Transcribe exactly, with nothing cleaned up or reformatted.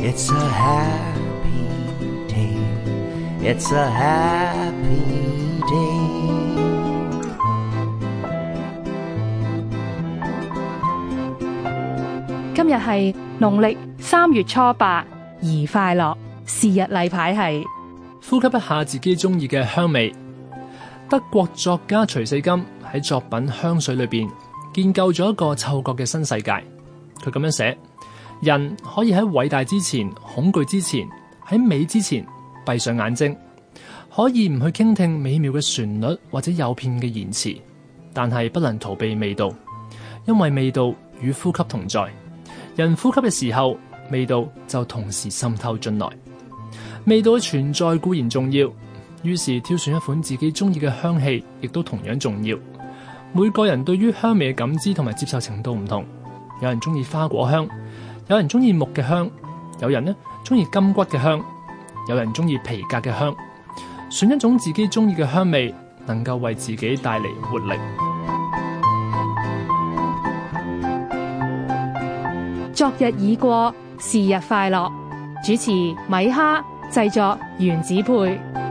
It's a happy day. It's a happy day. 今日係農曆三月初八，宜快樂。是日例牌係呼吸一下自己中意嘅香味。德國作家徐四金喺作品《香水》裏邊建構咗一個嗅覺嘅新世界。佢咁樣寫：人可以喺偉大之前、恐懼之前、喺美之前閉上眼睛，可以唔去傾聽美妙嘅旋律或者誘騙嘅言辭，但係不能逃避味道，因為味道與呼吸同在。人呼吸嘅時候，味道就同時滲透進來。味道嘅存在固然重要，於是挑選一款自己中意嘅香氣亦都同樣重要。每個人對於香味嘅感知同埋接受程度唔同，有人中意花果香，有人中意木嘅香，有人呢中意金骨嘅香，有人中意皮革嘅香。選一種自己中意嘅香味，能夠為自己帶嚟活力。 昨日已過，是日快樂。主持米哈，製作原子配。